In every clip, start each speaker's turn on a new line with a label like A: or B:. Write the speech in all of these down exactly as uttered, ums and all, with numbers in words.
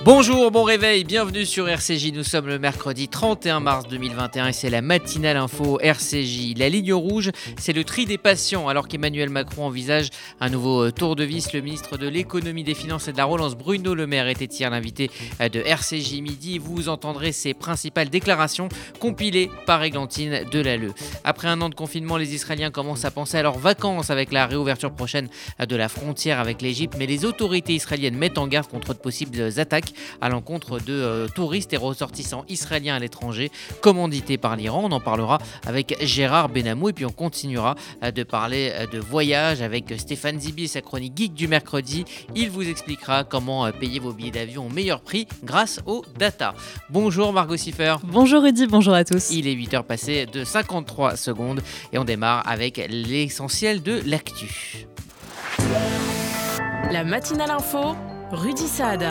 A: Bonjour, bon réveil, bienvenue sur R C J. Nous sommes le mercredi trente et un mars deux mille vingt et un et c'est la matinale info R C J. La ligne rouge, c'est le tri des patients. Alors qu'Emmanuel Macron envisage un nouveau tour de vis, le ministre de l'économie, des finances et de la relance, Bruno Le Maire, était hier l'invité de R C J Midi. Vous entendrez ses principales déclarations compilées par Églantine Delalleux. Après un an de confinement, les Israéliens commencent à penser à leurs vacances avec la réouverture prochaine de la frontière avec l'Égypte. Mais les autorités israéliennes mettent en garde contre de possibles attaques à l'encontre de euh, touristes et ressortissants israéliens à l'étranger, commandités par l'Iran. On en parlera avec Gérard Benamou et puis on continuera euh, de parler euh, de voyage avec Stéphane Zibi et sa chronique geek du mercredi. Il vous expliquera comment euh, payer vos billets d'avion au meilleur prix grâce aux data. Bonjour Margot Siffer.
B: Bonjour Rudy, bonjour à tous.
A: Il est huit heures passées de cinquante-trois secondes et on démarre avec l'essentiel de l'actu.
C: La matinale info, Rudy Saad.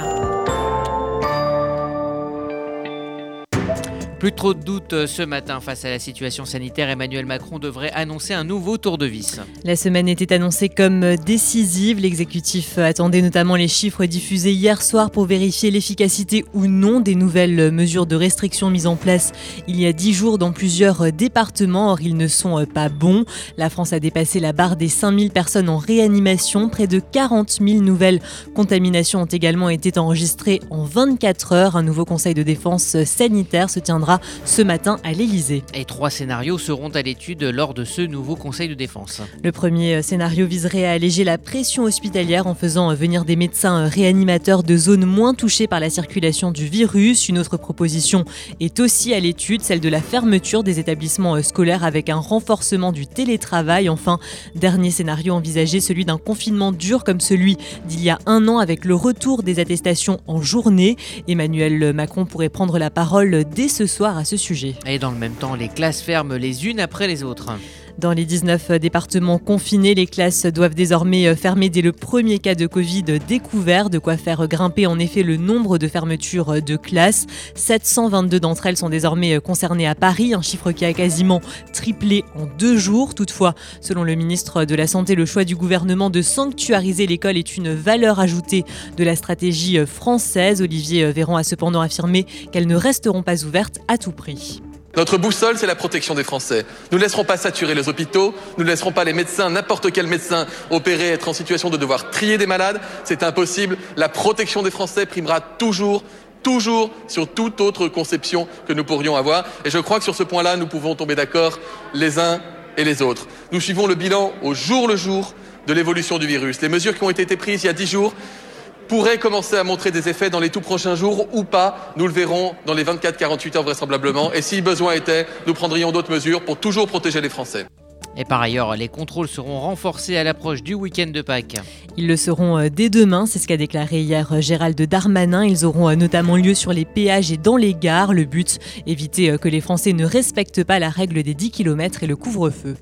A: Plus trop de doutes ce matin face à la situation sanitaire, Emmanuel Macron devrait annoncer un nouveau tour de vis.
B: La semaine était annoncée comme décisive. L'exécutif attendait notamment les chiffres diffusés hier soir pour vérifier l'efficacité ou non des nouvelles mesures de restriction mises en place il y a dix jours dans plusieurs départements. Or, ils ne sont pas bons. La France a dépassé la barre des cinq mille personnes en réanimation. Près de quarante mille nouvelles contaminations ont également été enregistrées en vingt-quatre heures. Un nouveau conseil de défense sanitaire se tiendra ce matin à l'Elysée.
A: Et trois scénarios seront à l'étude lors de ce nouveau conseil de défense.
B: Le premier scénario viserait à alléger la pression hospitalière en faisant venir des médecins réanimateurs de zones moins touchées par la circulation du virus. Une autre proposition est aussi à l'étude, celle de la fermeture des établissements scolaires avec un renforcement du télétravail. Enfin, dernier scénario envisagé, celui d'un confinement dur comme celui d'il y a un an avec le retour des attestations en journée. Emmanuel Macron pourrait prendre la parole dès ce soir à ce sujet.
A: Et dans le même temps, les classes ferment les unes après les autres.
B: Dans les dix-neuf départements confinés, les classes doivent désormais fermer dès le premier cas de Covid découvert, de quoi faire grimper en effet le nombre de fermetures de classes. sept cent vingt-deux d'entre elles sont désormais concernées à Paris, un chiffre qui a quasiment triplé en deux jours. Toutefois, selon le ministre de la Santé, le choix du gouvernement de sanctuariser l'école est une valeur ajoutée de la stratégie française. Olivier Véran a cependant affirmé qu'elles ne resteront pas ouvertes à tout prix.
D: Notre boussole, c'est la protection des Français. Nous ne laisserons pas saturer les hôpitaux, nous ne laisserons pas les médecins, n'importe quel médecin opérer, être en situation de devoir trier des malades. C'est impossible. La protection des Français primera toujours, toujours sur toute autre conception que nous pourrions avoir. Et je crois que sur ce point-là, nous pouvons tomber d'accord les uns et les autres. Nous suivons le bilan au jour le jour de l'évolution du virus. Les mesures qui ont été prises il y a dix jours pourrait commencer à montrer des effets dans les tout prochains jours ou pas. Nous le verrons dans les vingt-quatre à quarante-huit heures vraisemblablement. Et si besoin était, nous prendrions d'autres mesures pour toujours protéger les Français.
A: Et par ailleurs, les contrôles seront renforcés à l'approche du week-end de Pâques.
B: Ils le seront dès demain, c'est ce qu'a déclaré hier Gérald Darmanin. Ils auront notamment lieu sur les péages et dans les gares. Le but, éviter que les Français ne respectent pas la règle des dix kilomètres et le couvre-feu.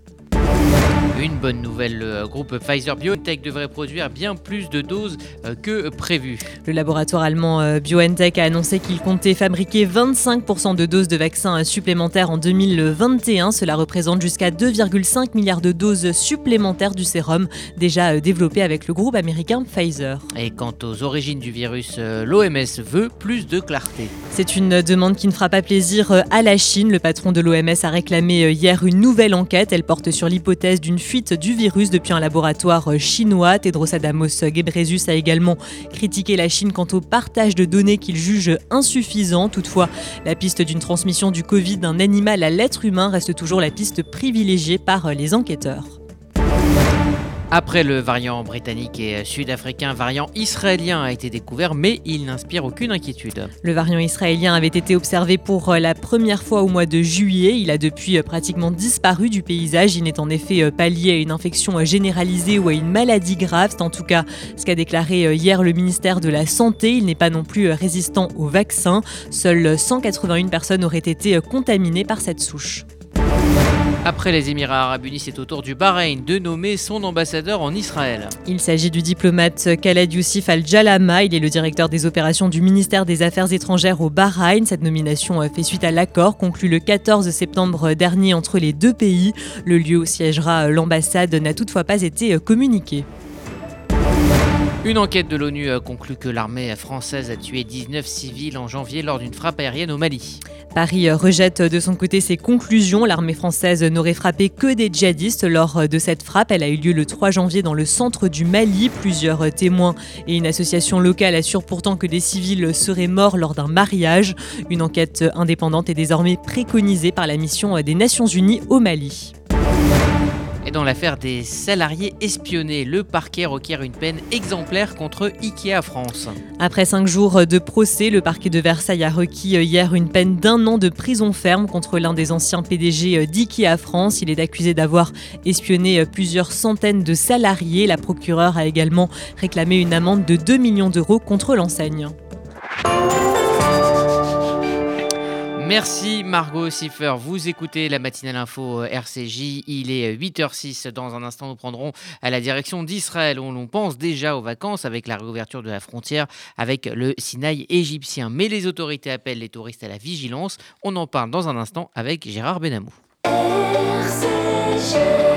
A: Une bonne nouvelle, le groupe Pfizer-BioNTech devrait produire bien plus de doses que prévu.
B: Le laboratoire allemand BioNTech a annoncé qu'il comptait fabriquer vingt-cinq pour cent de doses de vaccins supplémentaires en deux mille vingt et un. Cela représente jusqu'à deux virgule cinq milliards de doses supplémentaires du sérum, déjà développé avec le groupe américain Pfizer.
A: Et quant aux origines du virus, l'O M S veut plus de clarté.
B: C'est une demande qui ne fera pas plaisir à la Chine. Le patron de l'O M S a réclamé hier une nouvelle enquête. Elle porte sur l'hypothèse d'une fuite du virus depuis un laboratoire chinois. Tedros Adhanom Ghebreyesus a également critiqué la Chine quant au partage de données qu'il juge insuffisant. Toutefois, la piste d'une transmission du Covid d'un animal à l'être humain reste toujours la piste privilégiée par les enquêteurs.
A: Après le variant britannique et sud-africain, un variant israélien a été découvert, mais il n'inspire aucune inquiétude.
B: Le variant israélien avait été observé pour la première fois au mois de juillet. Il a depuis pratiquement disparu du paysage. Il n'est en effet pas lié à une infection généralisée ou à une maladie grave. C'est en tout cas ce qu'a déclaré hier le ministère de la Santé. Il n'est pas non plus résistant au vaccin. Seules cent quatre-vingt-une personnes auraient été contaminées par cette souche.
A: Après les Émirats Arabes Unis, c'est au tour du Bahreïn de nommer son ambassadeur en Israël.
B: Il s'agit du diplomate Khaled Youssef Al-Jalama. Il est le directeur des opérations du ministère des Affaires étrangères au Bahreïn. Cette nomination fait suite à l'accord conclu le quatorze septembre dernier entre les deux pays. Le lieu où siégera l'ambassade n'a toutefois pas été communiqué.
A: Une enquête de l'ONU conclut que l'armée française a tué dix-neuf civils en janvier lors d'une frappe aérienne au Mali.
B: Paris rejette de son côté ses conclusions. L'armée française n'aurait frappé que des djihadistes lors de cette frappe. Elle a eu lieu le trois janvier dans le centre du Mali. Plusieurs témoins et une association locale assurent pourtant que des civils seraient morts lors d'un mariage. Une enquête indépendante est désormais préconisée par la mission des Nations Unies au Mali.
A: Et dans l'affaire des salariés espionnés, le parquet requiert une peine exemplaire contre Ikea France.
B: Après cinq jours de procès, le parquet de Versailles a requis hier une peine d'un an de prison ferme contre l'un des anciens P D G d'Ikea France. Il est accusé d'avoir espionné plusieurs centaines de salariés. La procureure a également réclamé une amende de deux millions d'euros contre l'enseigne.
A: Merci Margot Siffer, vous écoutez la matinale info R C J, il est huit heures six. Dans un instant, nous prendrons à la direction d'Israël où l'on pense déjà aux vacances avec la réouverture de la frontière avec le Sinaï égyptien. Mais les autorités appellent les touristes à la vigilance. On en parle dans un instant avec Gérard Benamou.
E: R C J.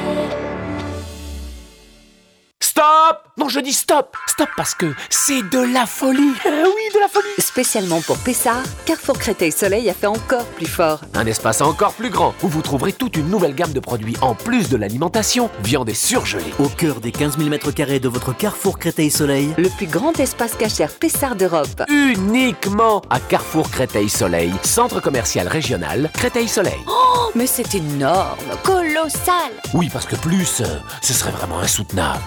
F: Stop! Non, je dis stop! Stop parce que c'est de la folie! Oui, de la folie!
G: Spécialement pour Pessard, Carrefour Créteil Soleil a fait encore plus fort.
F: Un espace encore plus grand où vous trouverez toute une nouvelle gamme de produits en plus de l'alimentation, viande et surgelée.
H: Au cœur des quinze mille mètres carrés de votre Carrefour Créteil Soleil,
G: Le plus grand espace cachère Pessard d'Europe.
F: Uniquement à Carrefour Créteil Soleil, centre commercial régional Créteil Soleil.
G: Oh, mais c'est énorme, colossal!
F: Oui, parce que plus, euh, ce serait vraiment insoutenable.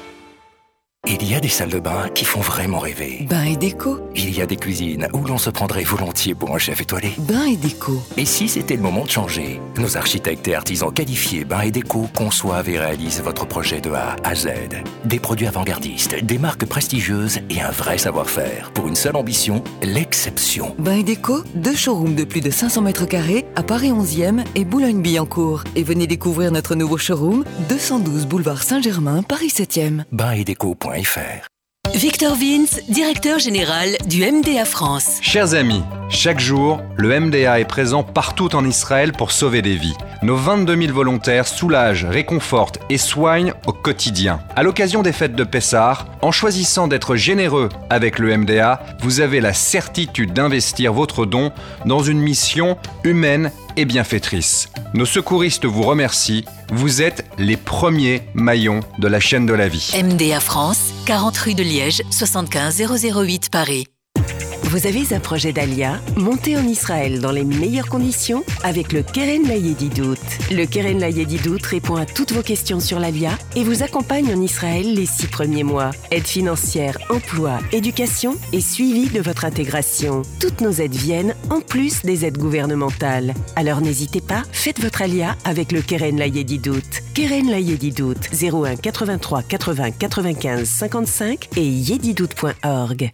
I: Il y a des salles de bain qui font vraiment rêver.
J: Bain et déco.
I: Il y a des cuisines où l'on se prendrait volontiers pour un chef étoilé.
J: Bain et déco.
I: Et si c'était le moment de changer? Nos architectes et artisans qualifiés Bain et déco conçoivent et réalisent votre projet de A à Z. Des produits avant-gardistes, des marques prestigieuses et un vrai savoir-faire. Pour une seule ambition, l'exception.
J: Bain et déco, deux showrooms de plus de cinq cents mètres carrés à Paris onzième et Boulogne-Billancourt. Et venez découvrir notre nouveau showroom, deux cent douze boulevard Saint-Germain, Paris septième.
I: bain et déco point f r.
K: Victor Vince, directeur général du M D A France.
L: Chers amis, chaque jour, le M D A est présent partout en Israël pour sauver des vies. Nos vingt-deux mille volontaires soulagent, réconfortent et soignent au quotidien. À l'occasion des fêtes de Pessah, en choisissant d'être généreux avec le M D A, vous avez la certitude d'investir votre don dans une mission humaine et bienfaitrice. Nos secouristes vous remercient. Vous êtes les premiers maillons de la chaîne de la vie.
K: M D A France, quarante rue de Liège, soixante-quinze zéro zéro huit Paris.
M: Vous avez un projet d'Alia? Montez en Israël dans les meilleures conditions avec le Keren Layedidout. Le Keren Layedidout répond à toutes vos questions sur l'Alia et vous accompagne en Israël les six premiers mois. Aide financière, emploi, éducation et suivi de votre intégration. Toutes nos aides viennent en plus des aides gouvernementales. Alors n'hésitez pas, faites votre Alia avec le Keren Layedidout. Keren Layedidout, zéro un quatre-vingt-trois quatre-vingts quatre-vingt-quinze cinquante-cinq et yedidout point org.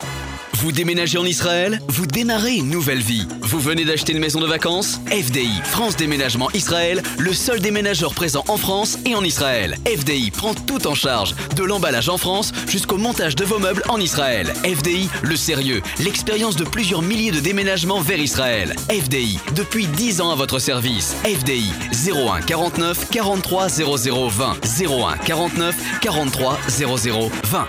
N: Vous déménagez en Israël? Vous démarrez une nouvelle vie. Vous venez d'acheter une maison de vacances? F D I, France Déménagement Israël, le seul déménageur présent en France et en Israël. F D I prend tout en charge, de l'emballage en France jusqu'au montage de vos meubles en Israël. F D I, le sérieux, l'expérience de plusieurs milliers de déménagements vers Israël. F D I, depuis dix ans à votre service. F D I, zéro un quarante-neuf quarante-trois zéro zéro vingt. zéro un quarante-neuf quarante-trois zéro zéro vingt.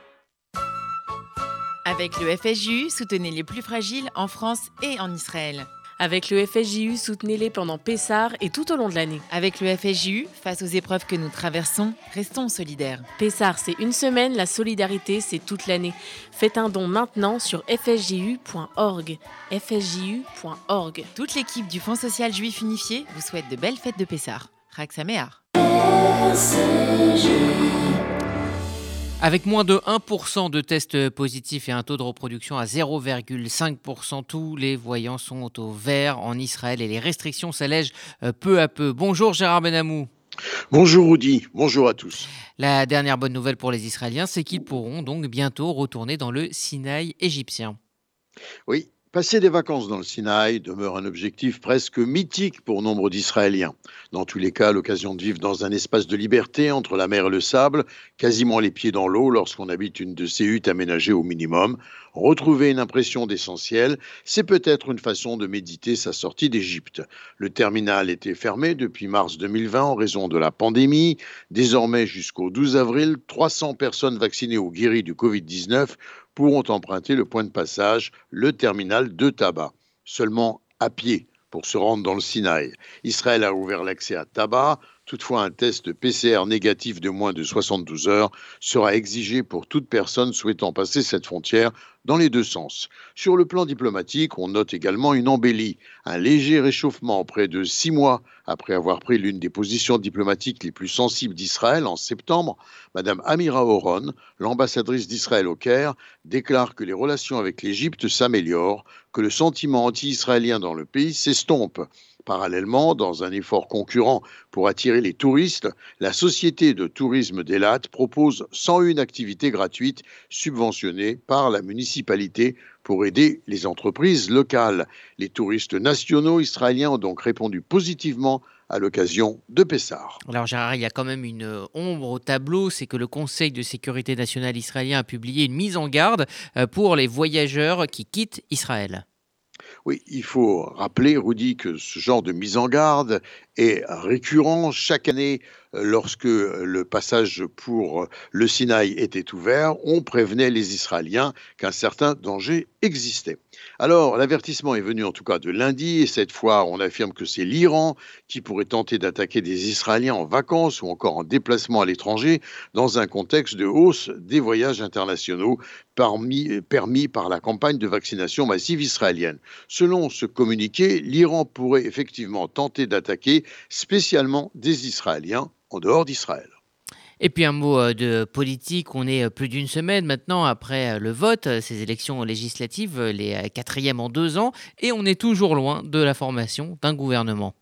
C: Avec le F S J U, soutenez les plus fragiles en France et en Israël. Avec le F S J U, soutenez-les pendant Pessah et tout au long de l'année. Avec le F S J U, face aux épreuves que nous traversons, restons solidaires. Pessah, c'est une semaine, la solidarité, c'est toute l'année. Faites un don maintenant sur f s j u point org. f s j u point org. Toute l'équipe du Fonds social juif unifié vous souhaite de belles fêtes de Pessah. Chag Sameach.
A: Avec moins de un pour cent de tests positifs et un taux de reproduction à zéro virgule cinq pour cent, tous les voyants sont au vert en Israël et les restrictions s'allègent peu à peu. Bonjour Gérard Benamou.
O: Bonjour Rudy, bonjour à tous.
A: La dernière bonne nouvelle pour les Israéliens, c'est qu'ils pourront donc bientôt retourner dans le Sinaï égyptien.
O: Oui, Passer des vacances dans le Sinaï demeure un objectif presque mythique pour nombre d'Israéliens. Dans tous les cas, l'occasion de vivre dans un espace de liberté entre la mer et le sable, quasiment les pieds dans l'eau lorsqu'on habite une de ces huttes aménagées au minimum, retrouver une impression d'essentiel, c'est peut-être une façon de méditer sa sortie d'Égypte. Le terminal était fermé depuis mars deux mille vingt en raison de la pandémie. Désormais, jusqu'au douze avril, trois cents personnes vaccinées ou guéries du covid dix-neuf pourront emprunter le point de passage, le terminal de Taba, seulement à pied pour se rendre dans le Sinaï. Israël a ouvert l'accès à Taba. Toutefois, un test P C R négatif de moins de soixante-douze heures sera exigé pour toute personne souhaitant passer cette frontière dans les deux sens. Sur le plan diplomatique, on note également une embellie, un léger réchauffement près de six mois après avoir pris l'une des positions diplomatiques les plus sensibles d'Israël en septembre. Madame Amira Oron, l'ambassadrice d'Israël au Caire, déclare que les relations avec l'Égypte s'améliorent, que le sentiment anti-israélien dans le pays s'estompe. Parallèlement, dans un effort concurrent pour attirer les touristes, la Société de tourisme d'Eilat propose cent une activités gratuites subventionnées par la municipalité pour aider les entreprises locales. Les touristes nationaux israéliens ont donc répondu positivement à l'occasion de Pessah.
A: Alors Gérard, il y a quand même une ombre au tableau, c'est que le Conseil de sécurité nationale israélien a publié une mise en garde pour les voyageurs qui quittent Israël.
O: Oui, il faut rappeler, Rudy, que ce genre de mise en garde est récurrent chaque année. Lorsque le passage pour le Sinaï était ouvert, on prévenait les Israéliens qu'un certain danger existait. Alors, l'avertissement est venu en tout cas de lundi, et cette fois, on affirme que c'est l'Iran qui pourrait tenter d'attaquer des Israéliens en vacances ou encore en déplacement à l'étranger dans un contexte de hausse des voyages internationaux parmi, permis par la campagne de vaccination massive israélienne. Selon ce communiqué, l'Iran pourrait effectivement tenter d'attaquer spécialement des Israéliens en dehors d'Israël.
A: Et puis un mot de politique, on est plus d'une semaine maintenant après le vote, ces élections législatives, les quatrièmes en deux ans, et on est toujours loin de la formation d'un gouvernement.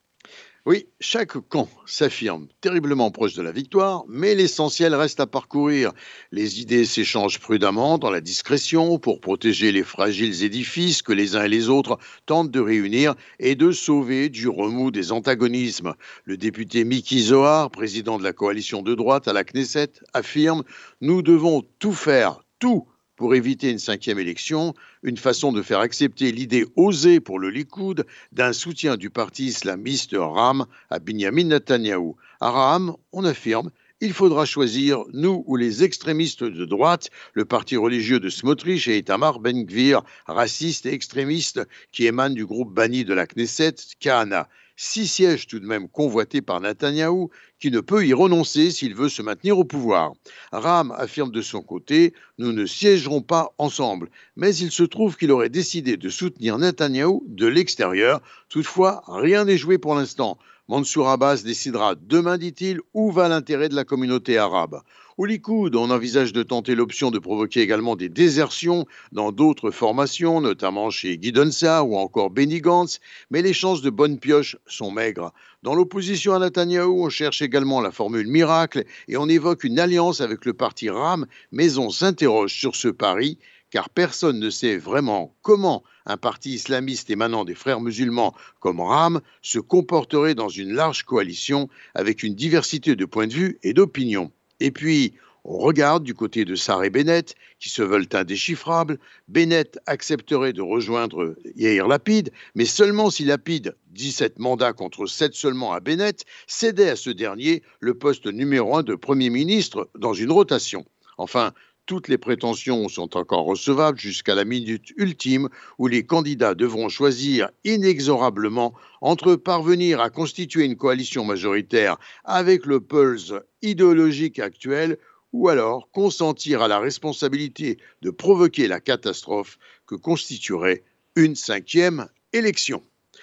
O: Oui, chaque camp s'affirme terriblement proche de la victoire, mais l'essentiel reste à parcourir. Les idées s'échangent prudemment dans la discrétion pour protéger les fragiles édifices que les uns et les autres tentent de réunir et de sauver du remous des antagonismes. Le député Miki Zohar, président de la coalition de droite à la Knesset, affirme « Nous devons tout faire, tout !» pour éviter une cinquième élection, une façon de faire accepter l'idée osée pour le Likoud d'un soutien du parti islamiste Ram à Binyamin Netanyahou. À Ram, on affirme il faudra choisir, nous ou les extrémistes de droite, le parti religieux de Smotrich et Itamar Ben-Gvir, raciste et extrémiste, qui émane du groupe banni de la Knesset, Kahana. Six sièges tout de même convoités par Netanyahou, qui ne peut y renoncer s'il veut se maintenir au pouvoir. Ram affirme de son côté « Nous ne siégerons pas ensemble », mais il se trouve qu'il aurait décidé de soutenir Netanyahou de l'extérieur. Toutefois, rien n'est joué pour l'instant. Mansour Abbas décidera demain, dit-il, où va l'intérêt de la communauté arabe. Au Likoud, on envisage de tenter l'option de provoquer également des désertions dans d'autres formations, notamment chez Gideon Sa'ar ou encore Benny Gantz, mais les chances de bonne pioche sont maigres. Dans l'opposition à Netanyahou, on cherche également la formule miracle et on évoque une alliance avec le parti Ram, mais on s'interroge sur ce pari, car personne ne sait vraiment comment un parti islamiste émanant des frères musulmans comme Ram se comporterait dans une large coalition avec une diversité de points de vue et d'opinions. Et puis, on regarde du côté de Sa'ar et Bennett, qui se veulent indéchiffrables. Bennett accepterait de rejoindre Yair Lapid, mais seulement si Lapid, dix-sept mandats contre sept seulement à Bennett, cédait à ce dernier le poste numéro un de Premier ministre dans une rotation. Enfin, toutes les prétentions sont encore recevables jusqu'à la minute ultime où les candidats devront choisir inexorablement entre parvenir à constituer une coalition majoritaire avec le pulse idéologique actuel ou alors consentir à la responsabilité de provoquer la catastrophe que constituerait une cinquième élection.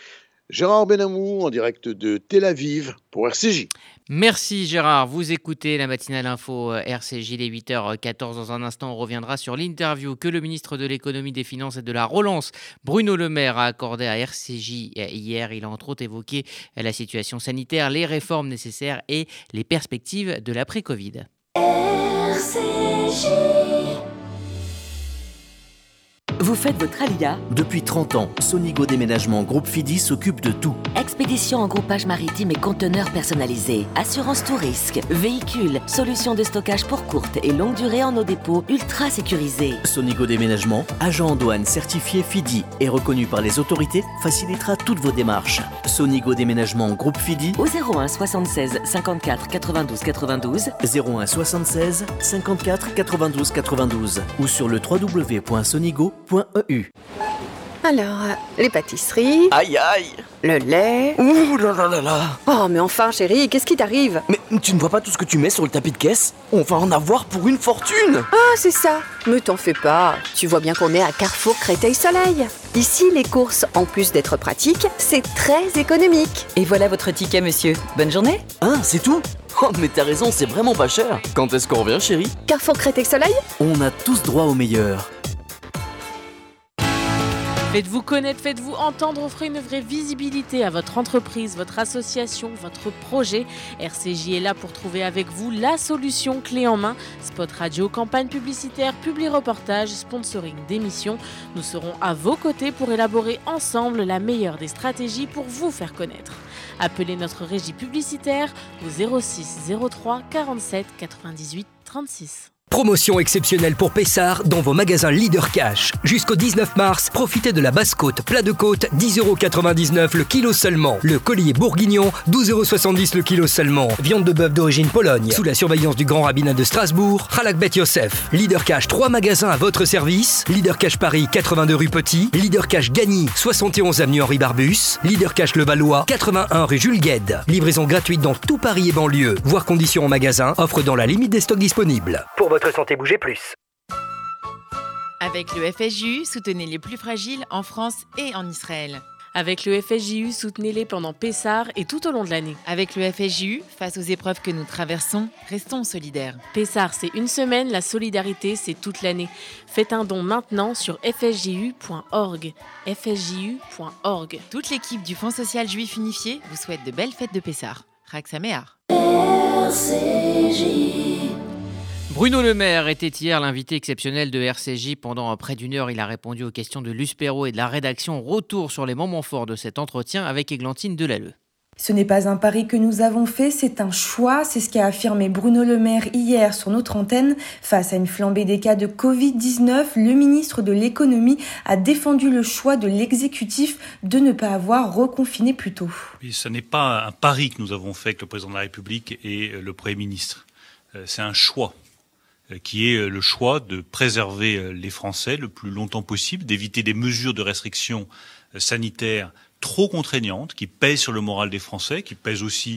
O: Gérard Benamou en direct de Tel Aviv pour R C J.
A: Merci Gérard, vous écoutez la matinale info R C J, les huit heures quatorze. Dans un instant, on reviendra sur l'interview que le ministre de l'économie, des finances et de la relance, Bruno Le Maire, a accordée à R C J hier. Il a entre autres évoqué la situation sanitaire, les réformes nécessaires et les perspectives de l'après-Covid.
E: R C J.
H: Vous faites votre alia? Depuis trente ans, Sonigo Déménagement Groupe Fidi s'occupe de tout.
P: Expédition en groupage maritime et conteneurs personnalisés, assurance tout risque, véhicules, solutions de stockage pour courte et longue durée en nos dépôts ultra sécurisés.
H: Sonigo Déménagement, agent en douane certifié Fidi et reconnu par les autorités, facilitera toutes vos démarches. Sonigo Déménagement Groupe Fidi
P: au zéro un soixante-seize cinquante-quatre quatre-vingt-douze quatre-vingt-douze,
H: zéro un soixante-seize cinquante-quatre quatre-vingt-douze quatre-vingt-douze ou sur le w w w point sonigo point e u.
Q: Alors, les pâtisseries...
F: Aïe aïe.
Q: Le lait...
F: Ouh là là là là.
Q: Oh, mais enfin, chérie, qu'est-ce qui t'arrive?
F: Mais tu ne vois pas tout ce que tu mets sur le tapis de caisse? On va en avoir pour une fortune.
Q: Ah, c'est ça. Mais t'en fais pas. Tu vois bien qu'on est à Carrefour Créteil-Soleil. Ici, les courses, en plus d'être pratiques, c'est très économique.
J: Et voilà votre ticket, monsieur. Bonne journée.
F: Ah, c'est tout? Oh, mais t'as raison, c'est vraiment pas cher. Quand est-ce qu'on revient, chérie?
Q: Carrefour Créteil-Soleil?
H: On a tous droit au meilleur.
C: Faites-vous connaître, faites-vous entendre, offrez une vraie visibilité à votre entreprise, votre association, votre projet. R C J est là pour trouver avec vous la solution clé en main. Spot radio, campagne publicitaire, publi-reportage, sponsoring d'émissions. Nous serons à vos côtés pour élaborer ensemble la meilleure des stratégies pour vous faire connaître. Appelez notre régie publicitaire au zéro six zéro trois quarante-sept quatre-vingt-dix-huit trente-six.
R: Promotion exceptionnelle pour Pessard dans vos magasins Leader Cash. Jusqu'au dix-neuf mars, profitez de la basse-côte, plat de côte, dix euros quatre-vingt-dix-neuf le kilo seulement. Le collier bourguignon, douze euros soixante-dix le kilo seulement. Viande de bœuf d'origine Pologne, sous la surveillance du grand rabbinat de Strasbourg, Halak Bet Yosef. Leader Cash, trois magasins à votre service. Leader Cash Paris, quatre-vingt-deux rue Petit. Leader Cash Gagny, soixante et onze avenue Henri Barbus. Leader Cash Levallois, quatre-vingt-un rue Jules Guesde. Livraison gratuite dans tout Paris et banlieue. Voir conditions en magasin, offre dans la limite des stocks disponibles. Pour votre santé, bougez plus.
C: Avec le F S J U, soutenez les plus fragiles en France et en Israël. Avec le F S J U, soutenez-les pendant Pessah et tout au long de l'année. Avec le F S J U, face aux épreuves que nous traversons, restons solidaires. Pessah, c'est une semaine, la solidarité, c'est toute l'année. Faites un don maintenant sur f s j u point org. f s j u point org. Toute l'équipe du Fonds social juif unifié vous souhaite de belles fêtes de Pessah. Chag Sameach.
E: R C J.
A: Bruno Le Maire était hier l'invité exceptionnel de R C J. Pendant près d'une heure, il a répondu aux questions de Luce Perrault et de la rédaction. Retour sur les moments forts de cet entretien avec Églantine Delalleux.
S: Ce n'est pas un pari que nous avons fait, c'est un choix. C'est ce qu'a affirmé Bruno Le Maire hier sur notre antenne. Face à une flambée des cas de covid dix-neuf, le ministre de l'économie a défendu le choix de l'exécutif de ne pas avoir reconfiné plus tôt.
T: Oui, ce n'est pas un pari que nous avons fait avec le président de la République et le Premier ministre. C'est un choix, qui est le choix de préserver les Français le plus longtemps possible, d'éviter des mesures de restriction sanitaire trop contraignantes, qui pèsent sur le moral des Français, qui pèsent aussi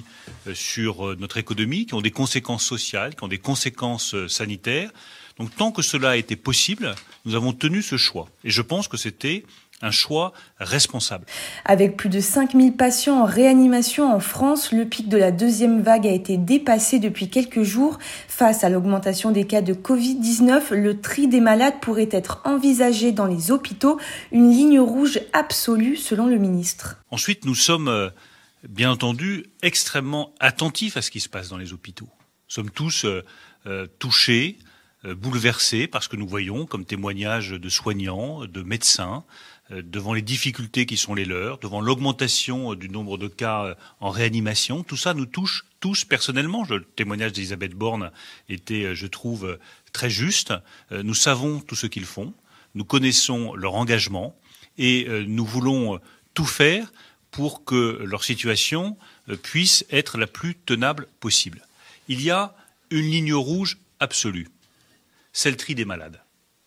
T: sur notre économie, qui ont des conséquences sociales, qui ont des conséquences sanitaires. Donc tant que cela a été possible, nous avons tenu ce choix. Et je pense que c'était un choix responsable.
S: Avec plus de cinq mille patients en réanimation en France, le pic de la deuxième vague a été dépassé depuis quelques jours. Face à l'augmentation des cas de covid dix-neuf, le tri des malades pourrait être envisagé dans les hôpitaux, une ligne rouge absolue selon le ministre.
T: Ensuite, nous sommes bien entendu extrêmement attentifs à ce qui se passe dans les hôpitaux. Nous sommes tous euh, euh, touchés, euh, bouleversés par ce que nous voyons comme témoignages de soignants, de médecins, devant les difficultés qui sont les leurs, devant l'augmentation du nombre de cas en réanimation. Tout ça nous touche tous personnellement. Le témoignage d'Elisabeth Borne était, je trouve, très juste. Nous savons tout ce qu'ils font, nous connaissons leur engagement et nous voulons tout faire pour que leur situation puisse être la plus tenable possible. Il y a une ligne rouge absolue, c'est le tri des malades.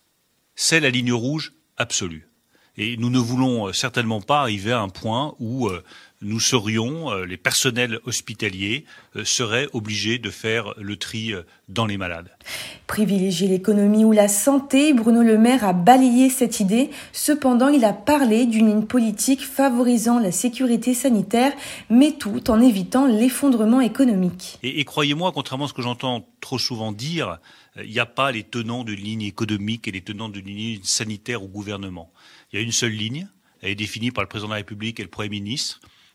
T: C'est la ligne rouge absolue. Et nous ne voulons certainement pas arriver à un point où euh, nous serions, euh, les personnels hospitaliers, euh, seraient obligés de faire le tri euh, dans les malades.
S: Privilégier l'économie ou la santé, Bruno Le Maire a balayé cette idée. Cependant, il a parlé d'une ligne politique favorisant la sécurité sanitaire, mais tout en évitant l'effondrement économique.
T: Et, et croyez-moi, contrairement à ce que j'entends trop souvent dire, il n'y a pas les tenants d'une ligne économique et les tenants d'une ligne sanitaire au gouvernement. Il y a une seule ligne, elle est définie par le président de la République et le Premier ministre.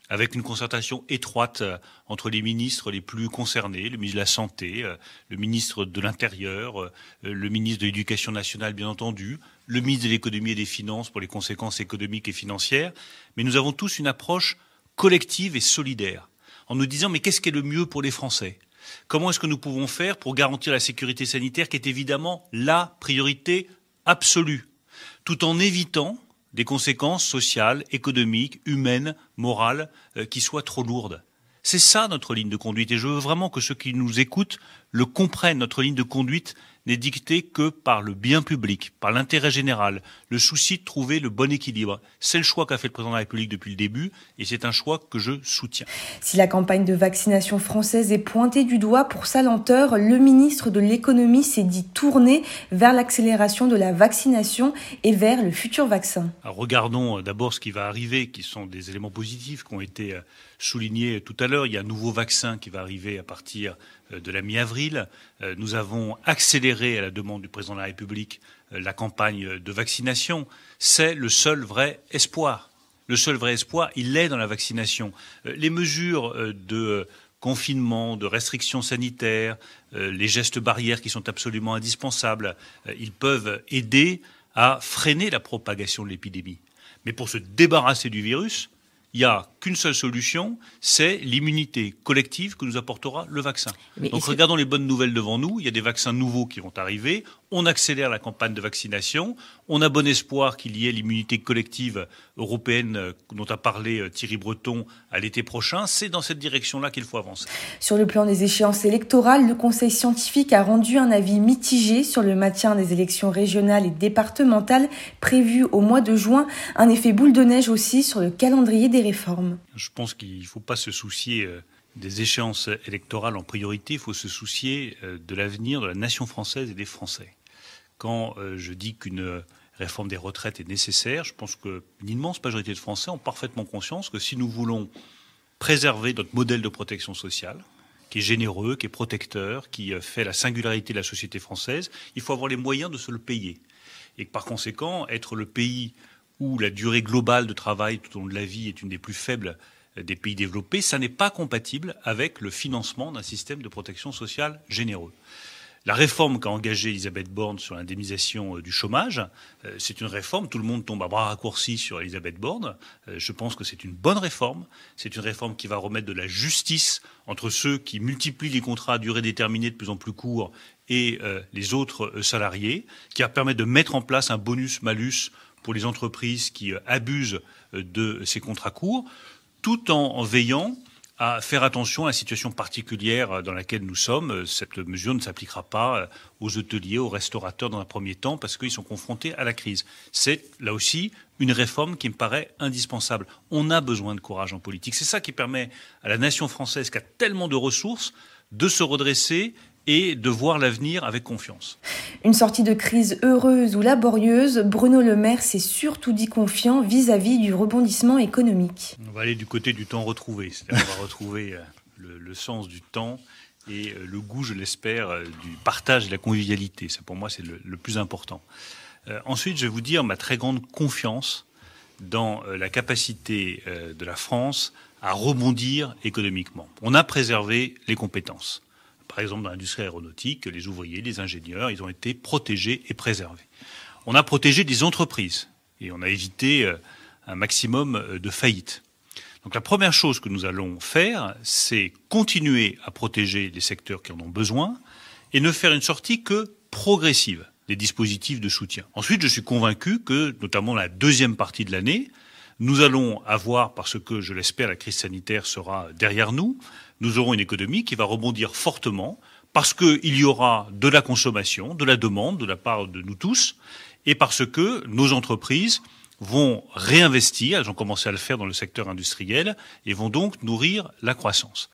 T: avec une concertation étroite entre les ministres les plus concernés, le ministre de la Santé, le ministre de l'Intérieur, le ministre de l'Éducation nationale, bien entendu, le ministre de l'Économie et des Finances pour les conséquences économiques et financières. Mais nous avons tous une approche collective et solidaire, en nous disant mais qu'est-ce qui est le mieux pour les Français ? Comment est-ce que nous pouvons faire pour garantir la sécurité sanitaire, qui est évidemment la priorité absolue, tout en évitant des conséquences sociales, économiques, humaines, morales, euh, qui soient trop lourdes. C'est ça notre ligne de conduite, et je veux vraiment que ceux qui nous écoutent le comprennent. Notre ligne de conduite n'est dictée que par le bien public, par l'intérêt général, le souci de trouver le bon équilibre. C'est le choix qu'a fait le président de la République depuis le début, et c'est un choix que je soutiens.
S: Si la campagne de vaccination française est pointée du doigt pour sa lenteur, le ministre de l'économie s'est dit tourné vers l'accélération de la vaccination et vers le futur vaccin.
T: Alors regardons d'abord ce qui va arriver, qui sont des éléments positifs qui ont été soulignés tout à l'heure. Il y a un nouveau vaccin qui va arriver à partir de la mi-avril. Nous avons accéléré à la demande du président de la République la campagne de vaccination. C'est le seul vrai espoir. Le seul vrai espoir, il est dans la vaccination. Les mesures de confinement, de restrictions sanitaires, les gestes barrières qui sont absolument indispensables, ils peuvent aider à freiner la propagation de l'épidémie. Mais pour se débarrasser du virus, il n'y a qu'une seule solution, c'est l'immunité collective que nous apportera le vaccin. Mais Donc regardons que... les bonnes nouvelles devant nous, il y a des vaccins nouveaux qui vont arriver, on accélère la campagne de vaccination, on a bon espoir qu'il y ait l'immunité collective européenne dont a parlé Thierry Breton à l'été prochain, c'est dans cette direction-là qu'il faut avancer.
S: Sur le plan des échéances électorales, le Conseil scientifique a rendu un avis mitigé sur le maintien des élections régionales et départementales prévues au mois de juin, un effet boule de neige aussi sur le calendrier des réformes.
T: Je pense qu'il ne faut pas se soucier des échéances électorales en priorité, il faut se soucier de l'avenir de la nation française et des Français. Quand je dis qu'une réforme des retraites est nécessaire, je pense qu'une immense majorité de Français ont parfaitement conscience que si nous voulons préserver notre modèle de protection sociale, qui est généreux, qui est protecteur, qui fait la singularité de la société française, il faut avoir les moyens de se le payer. Et que par conséquent, être le pays où la durée globale de travail tout au long de la vie est une des plus faibles des pays développés, ça n'est pas compatible avec le financement d'un système de protection sociale généreux. La réforme qu'a engagée Elisabeth Borne sur l'indemnisation du chômage, c'est une réforme, tout le monde tombe à bras raccourcis sur Elisabeth Borne. Je pense que c'est une bonne réforme. C'est une réforme qui va remettre de la justice entre ceux qui multiplient les contrats à durée déterminée de plus en plus courts et les autres salariés, qui va permettre de mettre en place un bonus-malus pour les entreprises qui abusent de ces contrats courts, tout en, en veillant à faire attention à la situation particulière dans laquelle nous sommes. Cette mesure ne s'appliquera pas aux hôteliers, aux restaurateurs dans un premier temps, parce qu'ils sont confrontés à la crise. C'est, là aussi, une réforme qui me paraît indispensable. On a besoin de courage en politique. C'est ça qui permet à la nation française, qui a tellement de ressources, de se redresser et de voir l'avenir avec confiance.
S: Une sortie de crise heureuse ou laborieuse, Bruno Le Maire s'est surtout dit confiant vis-à-vis du rebondissement économique.
T: On va aller du côté du temps retrouvé, c'est-à-dire on va retrouver le, le sens du temps et le goût, je l'espère, du partage et de la convivialité. Ça, pour moi, c'est le, le plus important. Euh, ensuite, je vais vous dire ma très grande confiance dans la capacité de la France à rebondir économiquement. On a préservé les compétences. Par exemple, dans l'industrie aéronautique, les ouvriers, les ingénieurs, ils ont été protégés et préservés. On a protégé des entreprises et on a évité un maximum de faillites. Donc la première chose que nous allons faire, c'est continuer à protéger les secteurs qui en ont besoin et ne faire une sortie que progressive des dispositifs de soutien. Ensuite, je suis convaincu que, notamment la deuxième partie de l'année, nous allons avoir, parce que je l'espère, la crise sanitaire sera derrière nous, nous aurons une économie qui va rebondir fortement parce qu'il y aura de la consommation, de la demande de la part de nous tous et parce que nos entreprises vont réinvestir, elles ont commencé à le faire dans le secteur industriel et vont donc nourrir la croissance.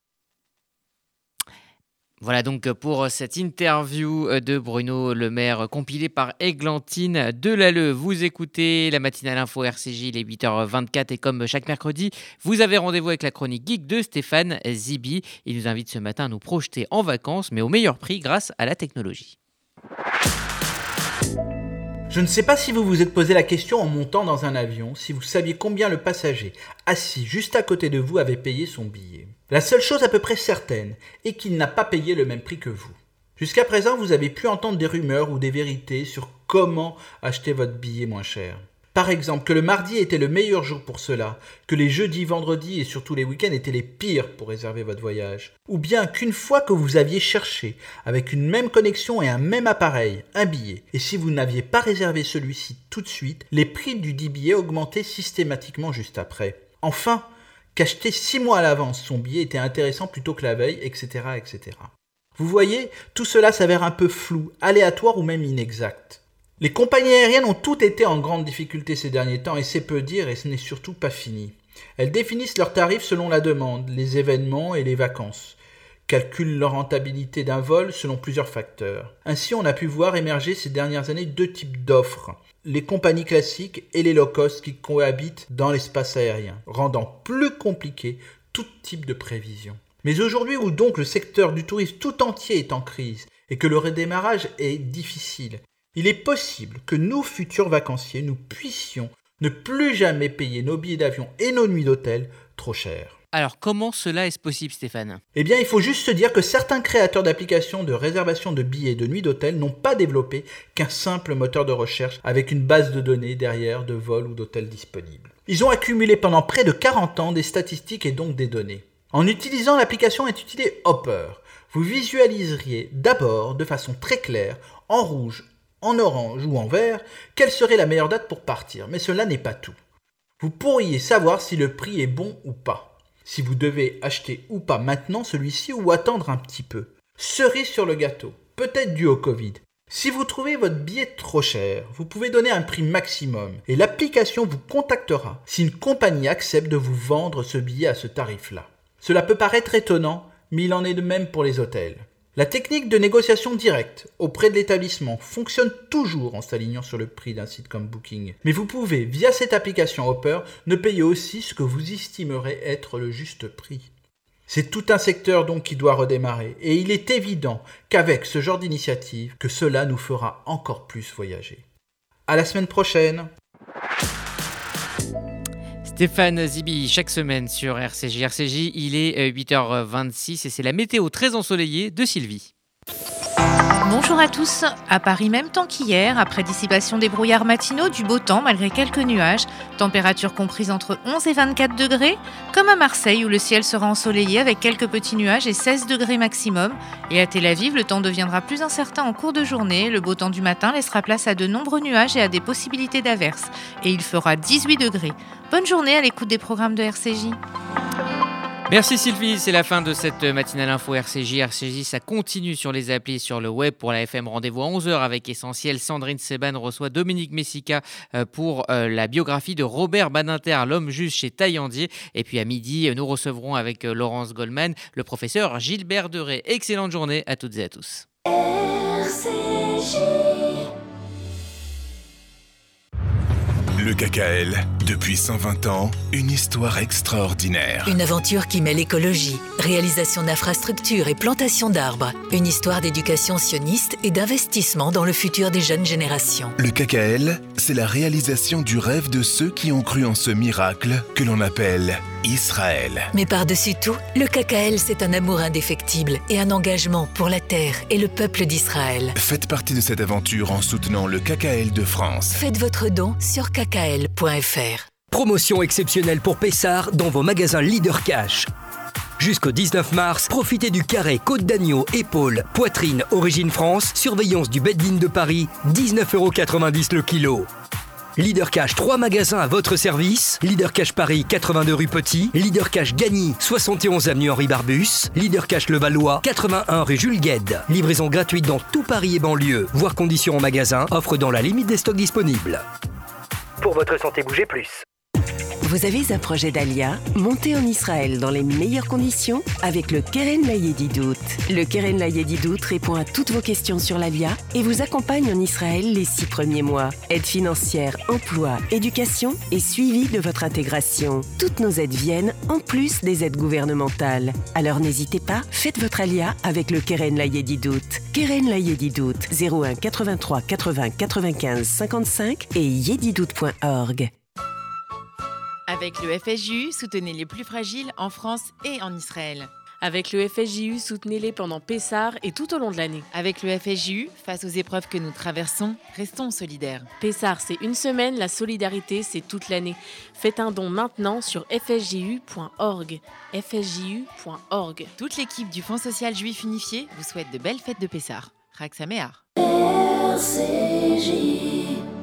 A: Voilà donc pour cette interview de Bruno Le Maire compilée par Églantine Delalleux. Vous écoutez la matinale info R C J, il est huit heures vingt-quatre et comme chaque mercredi, vous avez rendez-vous avec la chronique geek de Stéphane Zibi. Il nous invite ce matin à nous projeter en vacances mais au meilleur prix grâce à la technologie.
U: Je ne sais pas si vous vous êtes posé la question en montant dans un avion, si vous saviez combien le passager assis juste à côté de vous avait payé son billet. La seule chose à peu près certaine est qu'il n'a pas payé le même prix que vous. Jusqu'à présent, vous avez pu entendre des rumeurs ou des vérités sur comment acheter votre billet moins cher. Par exemple, que le mardi était le meilleur jour pour cela, que les jeudis, vendredis et surtout les week-ends étaient les pires pour réserver votre voyage. Ou bien qu'une fois que vous aviez cherché, avec une même connexion et un même appareil, un billet, et si vous n'aviez pas réservé celui-ci tout de suite, les prix du dit billet augmentaient systématiquement juste après. Enfin, qu'acheter six mois à l'avance son billet était intéressant plutôt que la veille, et cetera, et cetera. Vous voyez, tout cela s'avère un peu flou, aléatoire ou même inexact. Les compagnies aériennes ont toutes été en grande difficulté ces derniers temps et c'est peu dire et ce n'est surtout pas fini. Elles définissent leurs tarifs selon la demande, les événements et les vacances. Calculent leur rentabilité d'un vol selon plusieurs facteurs. Ainsi, on a pu voir émerger ces dernières années deux types d'offres. Les compagnies classiques et les low-cost qui cohabitent dans l'espace aérien, rendant plus compliqué tout type de prévision. Mais aujourd'hui où donc le secteur du tourisme tout entier est en crise et que le redémarrage est difficile, il est possible que nous, futurs vacanciers, nous puissions ne plus jamais payer nos billets d'avion et nos nuits d'hôtel trop cher.
A: Alors comment cela est-ce possible, Stéphane ?
U: Eh bien, il faut juste se dire que certains créateurs d'applications de réservation de billets et de nuits d'hôtel n'ont pas développé qu'un simple moteur de recherche avec une base de données derrière de vols ou d'hôtels disponibles. Ils ont accumulé pendant près de quarante ans des statistiques et donc des données. En utilisant l'application intitulée Hopper, vous visualiseriez d'abord de façon très claire, en rouge, en orange ou en vert, quelle serait la meilleure date pour partir, mais cela n'est pas tout. Vous pourriez savoir si le prix est bon ou pas, si vous devez acheter ou pas maintenant celui-ci ou attendre un petit peu. Cerise sur le gâteau, peut-être dû au Covid. Si vous trouvez votre billet trop cher, vous pouvez donner un prix maximum et l'application vous contactera si une compagnie accepte de vous vendre ce billet à ce tarif-là. Cela peut paraître étonnant, mais il en est de même pour les hôtels. La technique de négociation directe auprès de l'établissement fonctionne toujours en s'alignant sur le prix d'un site comme Booking. Mais vous pouvez, via cette application Hopper, ne payer aussi ce que vous estimerez être le juste prix. C'est tout un secteur donc qui doit redémarrer et il est évident qu'avec ce genre d'initiative, que cela nous fera encore plus voyager. À la semaine prochaine.
A: Stéphane Zibi, chaque semaine sur R C J. R C J, il est huit heures vingt-six et c'est la météo très ensoleillée de Sylvie.
C: Bonjour à tous. À Paris, même temps qu'hier, après dissipation des brouillards matinaux, du beau temps malgré quelques nuages, température comprise entre onze et vingt-quatre degrés, comme à Marseille où le ciel sera ensoleillé avec quelques petits nuages et seize degrés maximum. Et à Tel Aviv, le temps deviendra plus incertain en cours de journée. Le beau temps du matin laissera place à de nombreux nuages et à des possibilités d'averses. Et il fera dix-huit degrés. Bonne journée à l'écoute des programmes de R C J.
A: Merci Sylvie, c'est la fin de cette matinale info R C J. R C J, ça continue sur les applis, sur le web. Pour la F M, rendez-vous à onze heures avec Essentiel. Sandrine Seban reçoit Dominique Messica pour la biographie de Robert Badinter, l'homme juste chez Taillandier. Et puis à midi, nous recevrons avec Laurence Goldman le professeur Gilbert Deray. Excellente journée à toutes et à tous.
E: R C J.
V: Le K K L, depuis cent vingt ans, une histoire extraordinaire.
K: Une aventure qui mêle écologie, réalisation d'infrastructures et plantation d'arbres. Une histoire d'éducation sioniste et d'investissement dans le futur des jeunes générations.
V: Le K K L, c'est la réalisation du rêve de ceux qui ont cru en ce miracle que l'on appelle Israël.
K: Mais par-dessus tout, le K K L, c'est un amour indéfectible et un engagement pour la terre et le peuple d'Israël.
V: Faites partie de cette aventure en soutenant le K K L de France.
K: Faites votre don sur k k l point f r.
R: Promotion exceptionnelle pour Pessard dans vos magasins Leader Cash. Jusqu'au dix-neuf mars, profitez du carré côte d'agneau, épaule, poitrine, origine France, surveillance du Beddin de Paris, dix-neuf euros quatre-vingt-dix le kilo. Leader Cash, trois magasins à votre service. Leader Cash Paris, quatre-vingt-deux rue Petit. Leader Cash Gagny, soixante et onze avenue Henri Barbus. Leader Cash Levallois, quatre-vingt-un rue Jules Guesde. Livraison gratuite dans tout Paris et banlieue. Voir conditions en magasin, offre dans la limite des stocks disponibles. Pour votre santé, bougez plus.
M: Vous avez un projet d'Alia? Montez en Israël dans les meilleures conditions avec le Keren Layedidout. Le Keren Layedidout répond à toutes vos questions sur l'Alia et vous accompagne en Israël les six premiers mois. Aide financière, emploi, éducation et suivi de votre intégration. Toutes nos aides viennent en plus des aides gouvernementales. Alors n'hésitez pas, faites votre Alia avec le Keren Layedidout. Keren Layedidout, zéro un quatre-vingt-trois quatre-vingts quatre-vingt-quinze cinquante-cinq et yedidout point org.
C: Avec le F S J U, soutenez les plus fragiles en France et en Israël.
B: Avec le F S J U, soutenez-les pendant Pessah et tout au long de l'année.
C: Avec le F S J U, face aux épreuves que nous traversons, restons solidaires.
B: Pessah, c'est une semaine, la solidarité, c'est toute l'année. Faites un don maintenant sur f s j u point org. f s j u point org.
C: Toute l'équipe du Fonds social juif unifié vous souhaite de belles fêtes de Pessah. Chag Sameach.
E: R C J